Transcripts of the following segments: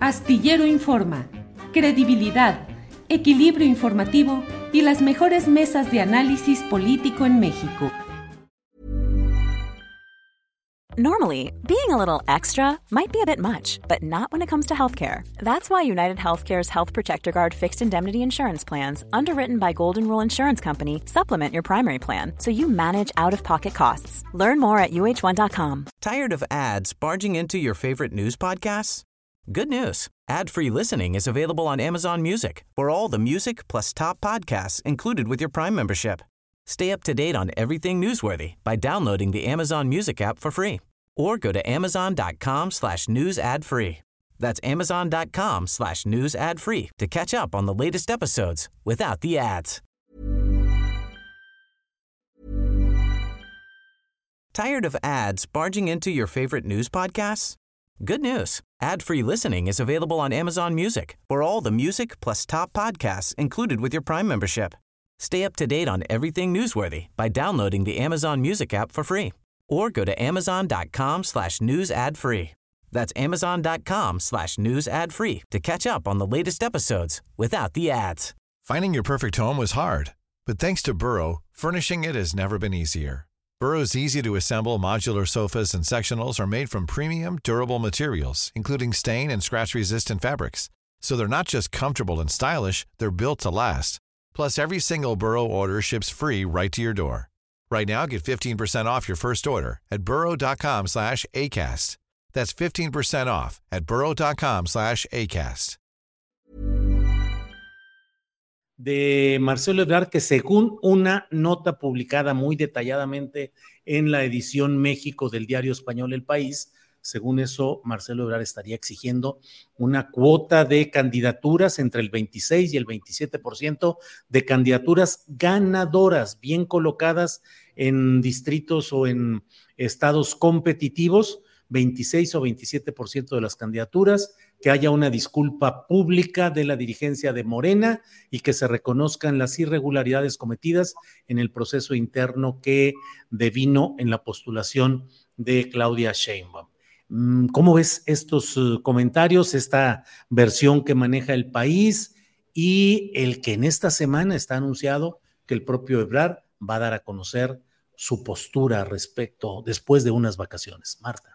Astillero Informa, credibilidad, equilibrio informativo y las mejores mesas de análisis político en México. Normally, being a little extra might be a bit much, but not when it comes to healthcare. That's why United Healthcare's Health Protector Guard fixed indemnity insurance plans, underwritten by Golden Rule Insurance Company, supplement your primary plan so you manage out-of-pocket costs. Learn more at uh1.com. Tired of ads barging into your favorite news podcasts? Good news. Ad-free listening is available on Amazon Music for all the music plus top podcasts included with your Prime membership. Stay up to date on everything newsworthy by downloading the Amazon Music app for free or go to amazon.com/news ad free. That's amazon.com/news ad free to catch up on the latest episodes without the ads. Tired of ads barging into your favorite news podcasts? Good news. Ad-free listening is available on Amazon Music for all the music plus top podcasts included with your Prime membership. Stay up to date on everything newsworthy by downloading the Amazon Music app for free or go to amazon.com/news ad free. That's amazon.com/news ad free to catch up on the latest episodes without the ads. Finding your perfect home was hard, but thanks to Burrow, furnishing it has never been easier. Burrow's easy-to-assemble modular sofas and sectionals are made from premium, durable materials, including stain and scratch-resistant fabrics. So they're not just comfortable and stylish, they're built to last. Plus, every single Burrow order ships free right to your door. Right now, get 15% off your first order at burrow.com/ACAST. That's 15% off at burrow.com/ACAST. De Marcelo Ebrard, que según una nota publicada muy detalladamente en la edición México del diario español El País, según eso, Marcelo Ebrard estaría exigiendo una cuota de candidaturas entre el 26 y el 27% de candidaturas ganadoras, bien colocadas en distritos o en estados competitivos, 26 o 27% de las candidaturas, que haya una disculpa pública de la dirigencia de Morena y que se reconozcan las irregularidades cometidas en el proceso interno que devino en la postulación de Claudia Sheinbaum. ¿Cómo ves estos comentarios, esta versión que maneja El País y el que en esta semana está anunciado que el propio Ebrard va a dar a conocer su postura respecto después de unas vacaciones? Marta.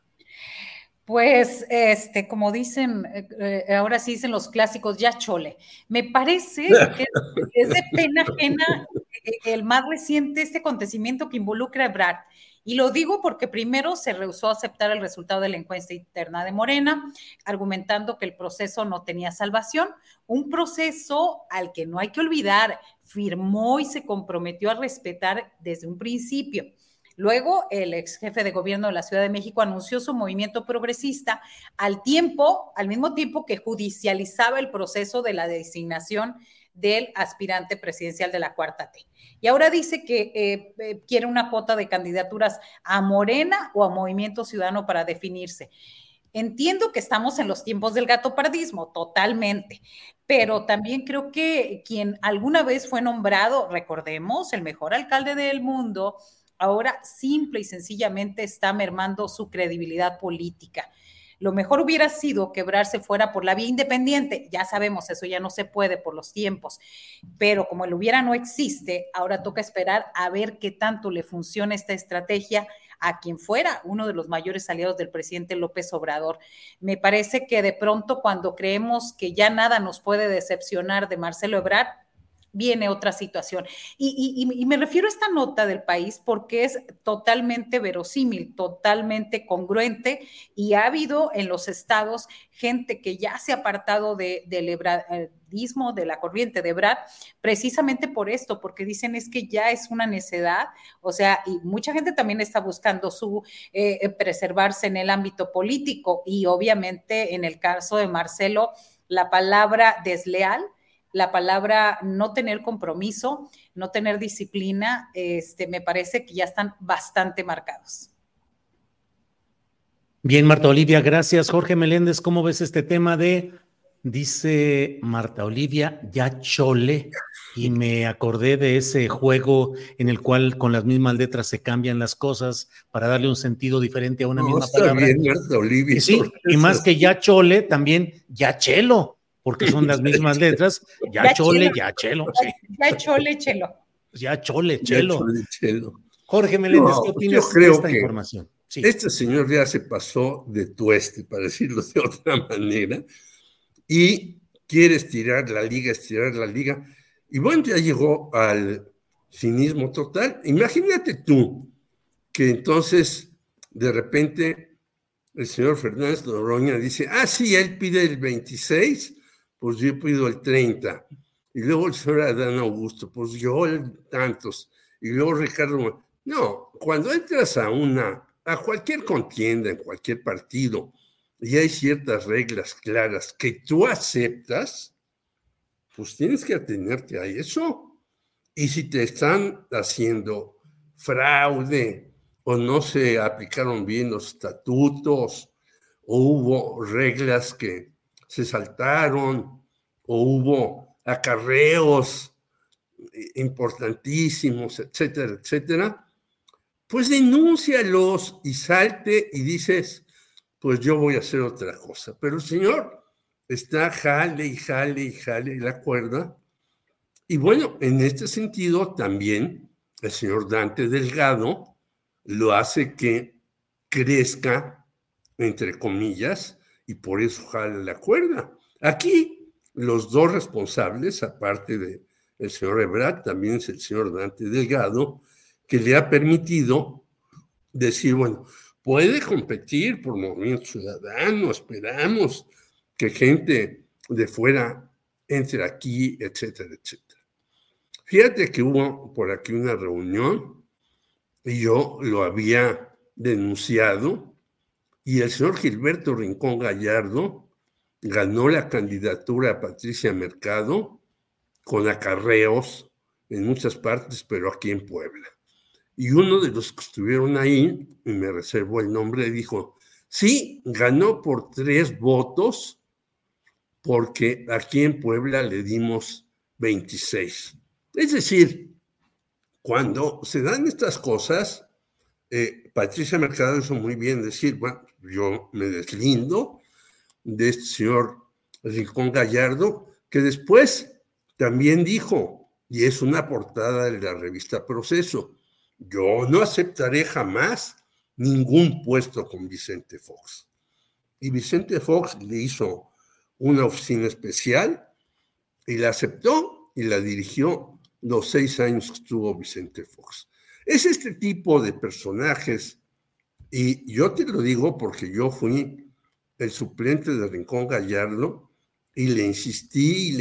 Pues, como dicen, ahora sí dicen los clásicos, ya chole. Me parece que es de pena ajena el más reciente acontecimiento que involucra a Ebrard. Y lo digo porque primero se rehusó a aceptar el resultado de la encuesta interna de Morena, argumentando que el proceso no tenía salvación, un proceso al que no hay que olvidar, firmó y se comprometió a respetar desde un principio. Luego, el ex jefe de gobierno de la Ciudad de México anunció su movimiento progresista al mismo tiempo que judicializaba el proceso de la designación del aspirante presidencial de la Cuarta T. Y ahora dice que quiere una cuota de candidaturas a Morena o a Movimiento Ciudadano para definirse. Entiendo que estamos en los tiempos del gatopardismo, totalmente, pero también creo que quien alguna vez fue nombrado, recordemos, el mejor alcalde del mundo, ahora simple y sencillamente está mermando su credibilidad política. Lo mejor hubiera sido que Ebrard se fuera por la vía independiente. Ya sabemos, eso ya no se puede por los tiempos. Pero como el hubiera no existe, ahora toca esperar a ver qué tanto le funciona esta estrategia a quien fuera uno de los mayores aliados del presidente López Obrador. Me parece que de pronto cuando creemos que ya nada nos puede decepcionar de Marcelo Ebrard, viene otra situación. Y me refiero a esta nota del País porque es totalmente verosímil, totalmente congruente, y ha habido en los estados gente que ya se ha apartado del ebrardismo, de la corriente de Ebrard, precisamente por esto, porque dicen es que ya es una necedad, o sea, y mucha gente también está buscando su preservarse en el ámbito político, y obviamente en el caso de Marcelo, la palabra desleal, la palabra no tener compromiso, no tener disciplina, me parece que ya están bastante marcados. Bien, Marta Olivia, gracias. Jorge Meléndez, ¿cómo ves este tema de Dice Marta Olivia, ya chole, y me acordé de ese juego en el cual con las mismas letras se cambian las cosas para darle un sentido diferente a una No, misma está palabra. bien, Marta Olivia. Y sí, y más que ya chole, también ya chelo, porque son las mismas letras, ya chole, ya chelo, sí. Ya chole, chelo. Ya chole, Ya chelo. chole, chelo. Jorge Meléndez, ¿qué No, opinas yo creo de esta que información? Sí. este señor ya se pasó de tueste, para decirlo de otra manera, y quiere estirar la liga, y bueno, ya llegó al cinismo total. Imagínate tú que entonces, de repente, el señor Fernández Noroña dice, sí, él pide el 26, pues yo pido el 30, y luego el señor Adán Augusto, pues yo el tantos, y luego Ricardo. No, cuando entras a cualquier contienda, en cualquier partido, y hay ciertas reglas claras que tú aceptas, pues tienes que atenerte a eso. Y si te están haciendo fraude o no se aplicaron bien los estatutos o hubo reglas que se saltaron o hubo acarreos importantísimos, etcétera, etcétera, pues denúncialos y salte y dices, pues yo voy a hacer otra cosa. Pero el señor está jale la cuerda. Y bueno, en este sentido también el señor Dante Delgado lo hace que crezca, entre comillas, y por eso jale la cuerda. Aquí los dos responsables, aparte del señor Ebrard, también es el señor Dante Delgado, que le ha permitido decir, bueno, puede competir por Movimiento Ciudadano, esperamos que gente de fuera entre aquí, etcétera, etcétera. Fíjate que hubo por aquí una reunión y yo lo había denunciado y el señor Gilberto Rincón Gallardo ganó la candidatura a Patricia Mercado con acarreos en muchas partes, pero aquí en Puebla. Y uno de los que estuvieron ahí, y me reservo el nombre, dijo, sí, ganó por 3 votos, porque aquí en Puebla le dimos 26. Es decir, cuando se dan estas cosas, Patricia Mercado hizo muy bien decir, bueno, yo me deslindo de este señor Rincón Gallardo, que después también dijo, y es una portada de la revista Proceso, yo no aceptaré jamás ningún puesto con Vicente Fox. Y Vicente Fox le hizo una oficina especial y la aceptó y la dirigió los 6 años que estuvo Vicente Fox. Es este tipo de personajes, y yo te lo digo porque yo fui el suplente de Rincón Gallardo y le insistí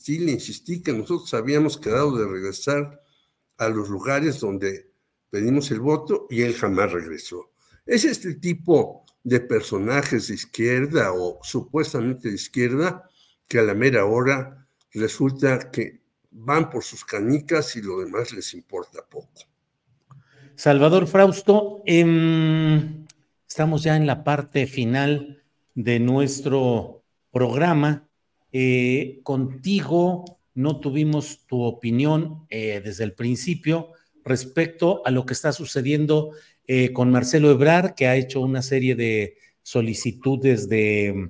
que nosotros habíamos quedado de regresar a los lugares donde pedimos el voto y él jamás regresó. Es este tipo de personajes de izquierda o supuestamente de izquierda que a la mera hora resulta que van por sus canicas y lo demás les importa poco. Salvador Frausto, estamos ya en la parte final de nuestro programa. Contigo no tuvimos tu opinión desde el principio respecto a lo que está sucediendo con Marcelo Ebrard, que ha hecho una serie de solicitudes de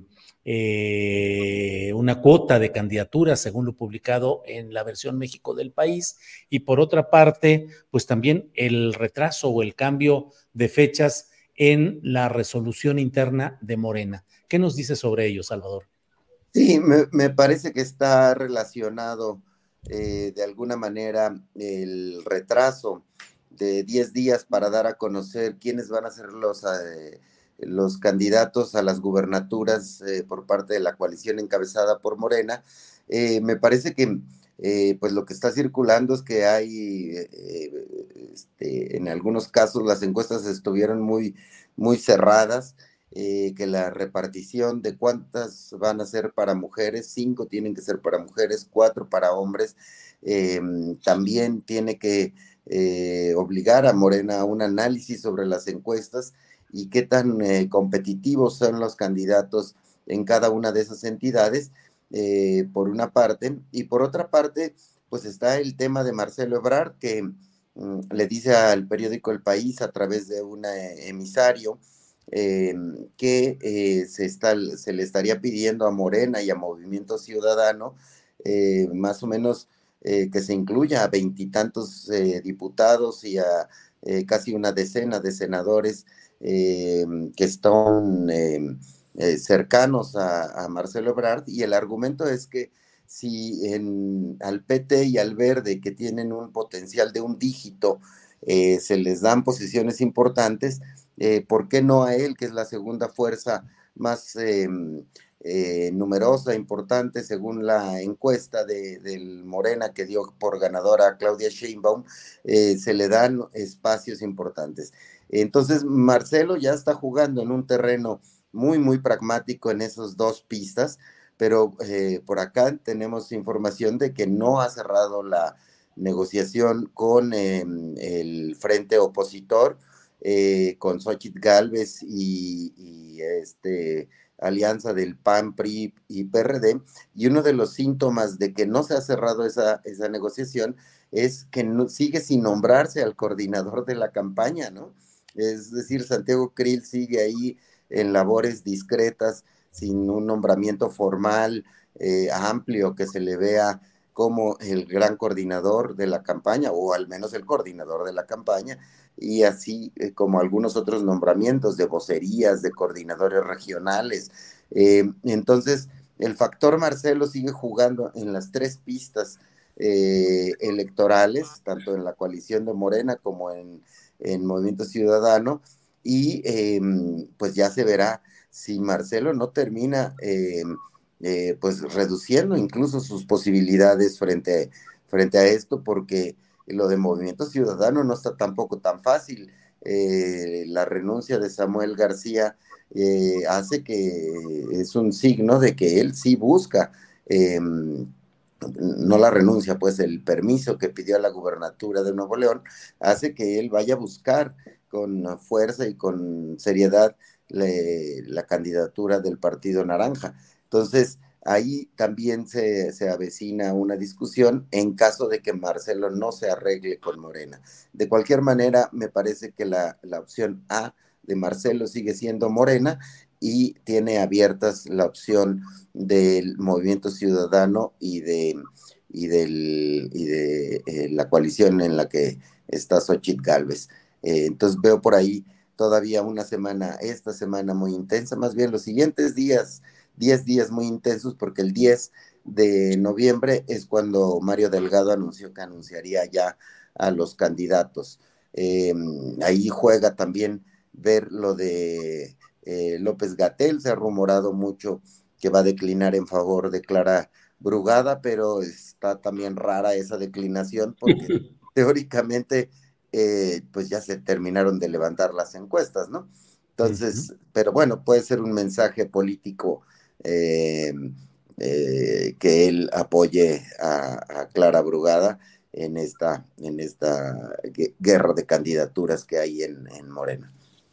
una cuota de candidaturas, según lo publicado en la versión México del País, y por otra parte, pues también el retraso o el cambio de fechas en la resolución interna de Morena. ¿Qué nos dice sobre ello, Salvador? Sí, me parece que está relacionado de alguna manera el retraso de 10 días para dar a conocer quiénes van a ser los candidatos a las gubernaturas por parte de la coalición encabezada por Morena. Me parece que pues lo que está circulando es que hay, en algunos casos las encuestas estuvieron muy, muy cerradas, que la repartición de cuántas van a ser para mujeres, 5 tienen que ser para mujeres, 4 para hombres, también tiene que obligar a Morena a un análisis sobre las encuestas y qué tan competitivos son los candidatos en cada una de esas entidades. por una parte, y por otra parte, pues está el tema de Marcelo Ebrard, que le dice al periódico El País a través de un emisario que se le estaría pidiendo a Morena y a Movimiento Ciudadano más o menos que se incluya a 20 diputados y a casi una decena de senadores que están cercanos a Marcelo Ebrard, y el argumento es que si al PT y al Verde, que tienen un potencial de un dígito, se les dan posiciones importantes, ¿por qué no a él, que es la segunda fuerza más numerosa, importante, según la encuesta del Morena que dio por ganadora a Claudia Sheinbaum, se le dan espacios importantes? Entonces Marcelo ya está jugando en un terreno muy, muy pragmático en esas dos pistas, pero por acá tenemos información de que no ha cerrado la negociación con el frente opositor, con Xóchitl Gálvez y alianza del PAN, PRI y PRD, y uno de los síntomas de que no se ha cerrado esa negociación es que sigue sin nombrarse al coordinador de la campaña, ¿no? Es decir, Santiago Krill sigue ahí en labores discretas, sin un nombramiento formal, amplio, que se le vea como el gran coordinador de la campaña, o al menos el coordinador de la campaña, y así como algunos otros nombramientos de vocerías, de coordinadores regionales. Entonces, el factor Marcelo sigue jugando en las tres pistas electorales, tanto en la coalición de Morena como en Movimiento Ciudadano, y pues ya se verá si Marcelo no termina pues reduciendo incluso sus posibilidades frente a esto, porque lo de Movimiento Ciudadano no está tampoco tan fácil. La renuncia de Samuel García hace que es un signo de que él sí busca, no la renuncia, pues el permiso que pidió a la gubernatura de Nuevo León hace que él vaya a buscar con fuerza y con seriedad la candidatura del Partido Naranja. Entonces, ahí también se avecina una discusión en caso de que Marcelo no se arregle con Morena. De cualquier manera, me parece que la opción A de Marcelo sigue siendo Morena, y tiene abiertas la opción del Movimiento Ciudadano y de la coalición en la que está Xóchitl Gálvez. Entonces veo por ahí todavía esta semana muy intensa, más bien los siguientes días, 10 días muy intensos, porque el 10 de noviembre es cuando Mario Delgado anunció que anunciaría ya a los candidatos. Ahí juega también ver lo de López-Gatell. Se ha rumorado mucho que va a declinar en favor de Clara Brugada, pero está también rara esa declinación, porque teóricamente pues ya se terminaron de levantar las encuestas, ¿no? Entonces, pero bueno, puede ser un mensaje político que él apoye a Clara Brugada en esta guerra de candidaturas que hay en Morena.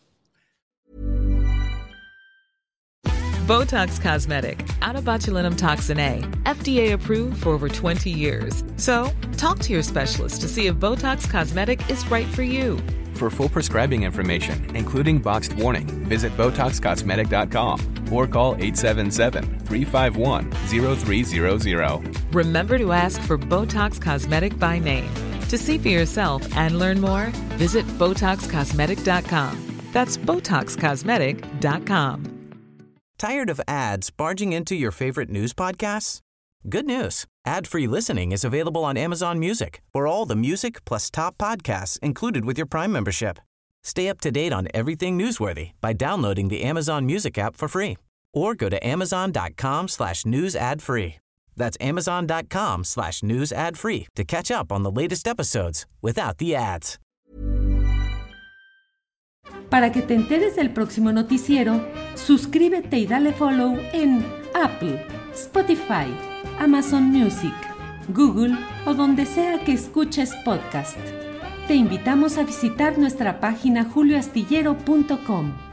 Botox Cosmetic, out of botulinum toxin A, FDA approved for over 20 years. So, talk to your specialist to see if Botox Cosmetic is right for you. For full prescribing information, including boxed warning, visit BotoxCosmetic.com or call 877-351-0300. Remember to ask for Botox Cosmetic by name. To see for yourself and learn more, visit BotoxCosmetic.com. That's BotoxCosmetic.com. Tired of ads barging into your favorite news podcasts? Good news. Ad-free listening is available on Amazon Music for all the music plus top podcasts included with your Prime membership. Stay up to date on everything newsworthy by downloading the Amazon Music app for free or go to amazon.com/news ad free. That's amazon.com/news ad free to catch up on the latest episodes without the ads. Para que te enteres del próximo noticiero, suscríbete y dale follow en Apple, Spotify, Amazon Music, Google o donde sea que escuches podcast. Te invitamos a visitar nuestra página julioastillero.com.